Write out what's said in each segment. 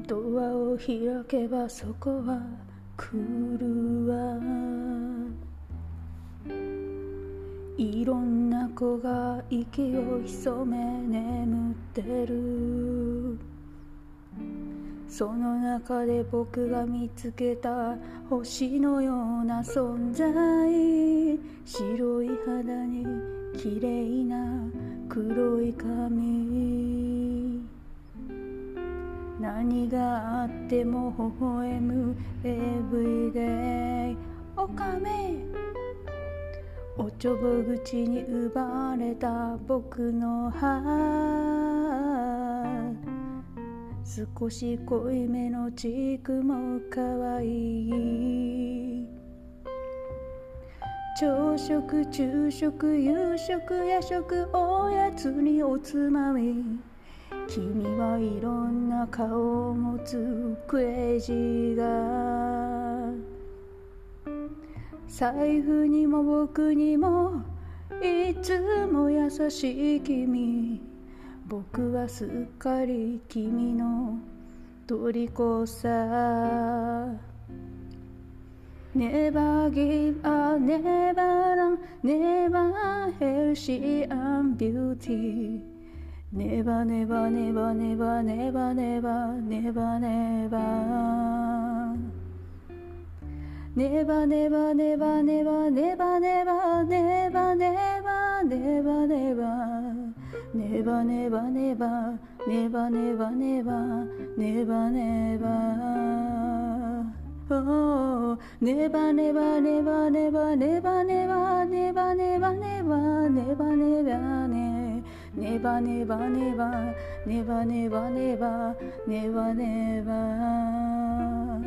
ドアを開けばそこは来るわ。いろんな子が息を潜め眠ってる。その中で僕が見つけた星のような存在。白い肌に綺麗な黒い髪。何があっても微笑む Everyday オカメ。おちょぼ口に奪われた僕の歯。少し濃いめのチークも可愛い。朝食、昼食、夕食、夜食、おやつにおつまみ。君はいろんな顔を持つクレイジーが。財布にも僕にもいつも優しい君。僕はすっかり君の虜さ。Never give up, never run, never hell, she and beauty. Never, never, never, never, never, never, never, never.Never, never, never, never, never, never, never, never, never, never, never, never, never, never, never, never, never.Oh, never, never, never, never, never, never, never, never, never, never, never, never, never, never, never, never, never.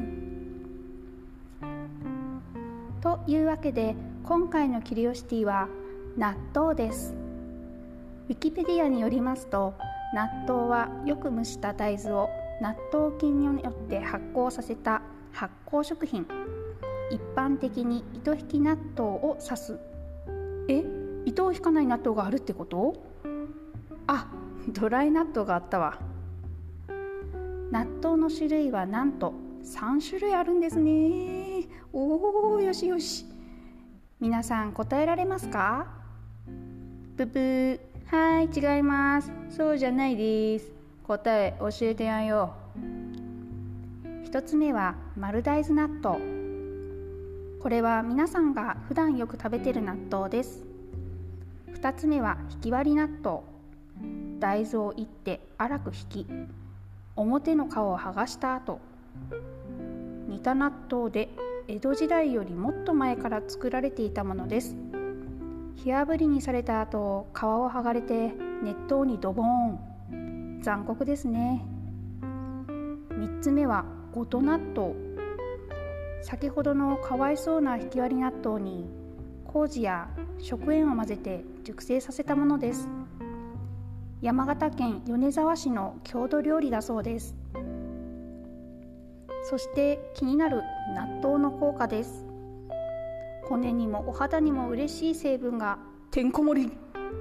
というわけで今回のキュリオシティは納豆です。ウィキペディアによりますと、納豆はよく蒸した大豆を納豆菌によって発酵させた発酵食品。一般的に糸引き納豆を指す。糸を引かない納豆があるってこと？あ、ドライ納豆があったわ。納豆の種類はなんと3種類あるんですね。おー、よしよし。皆さん答えられますか？ブブー。はい、違います。そうじゃないです。答え教えてやんよ。一つ目は丸大豆納豆。これは皆さんが普段よく食べている納豆です。二つ目はひき割り納豆。大豆をいって粗くひき、表の皮を剥がした後、煮た納豆で江戸時代よりもっと前から作られていたものです。火あぶりにされた後、皮を剥がれて熱湯にドボーン。残酷ですね。3つ目はごと納豆。先ほどのかわいそうなひき割り納豆に麹や食塩を混ぜて熟成させたものです。山形県米沢市の郷土料理だそうです。そして気になる納豆の効果です。骨にもお肌にも嬉しい成分がてんこ盛り。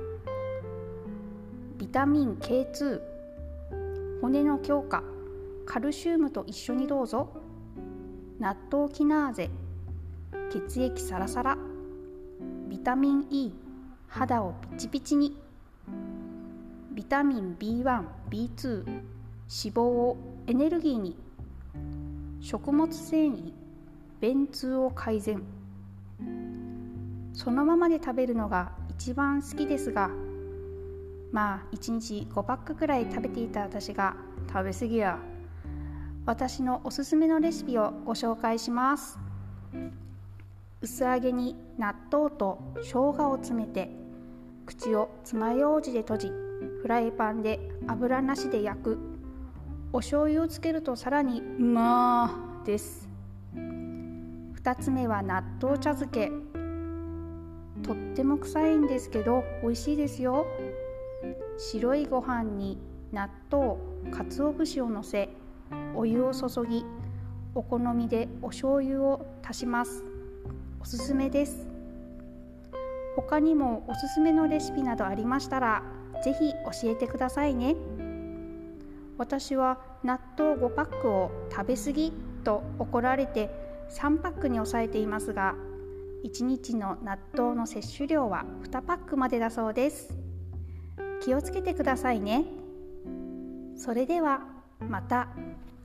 ビタミン K2、 骨の強化、カルシウムと一緒にどうぞ。納豆キナーゼ、血液サラサラ。ビタミン E、 肌をピチピチに。ビタミン B1、B2、 脂肪をエネルギーに。食物繊維、便通を改善。そのままで食べるのが一番好きですが、まあ1日5パックくらい食べていた私が食べ過ぎや。私のおすすめのレシピをご紹介します。薄揚げに納豆と生姜を詰めて、口を爪楊枝で閉じ、フライパンで油なしで焼く。お醤油をつけるとさらにうまーです。2つ目は納豆茶漬け。とっても臭いんですけど美味しいですよ。白いご飯に納豆、鰹節をのせ、お湯を注ぎ、お好みでお醤油を足します。おすすめです。他にもおすすめのレシピなどありましたらぜひ教えてくださいね。 私は納豆5パックを食べ過ぎと怒られて3パックに抑えていますが、1日の納豆の摂取量は2パックまでだそうです。気をつけてくださいね。それではまた。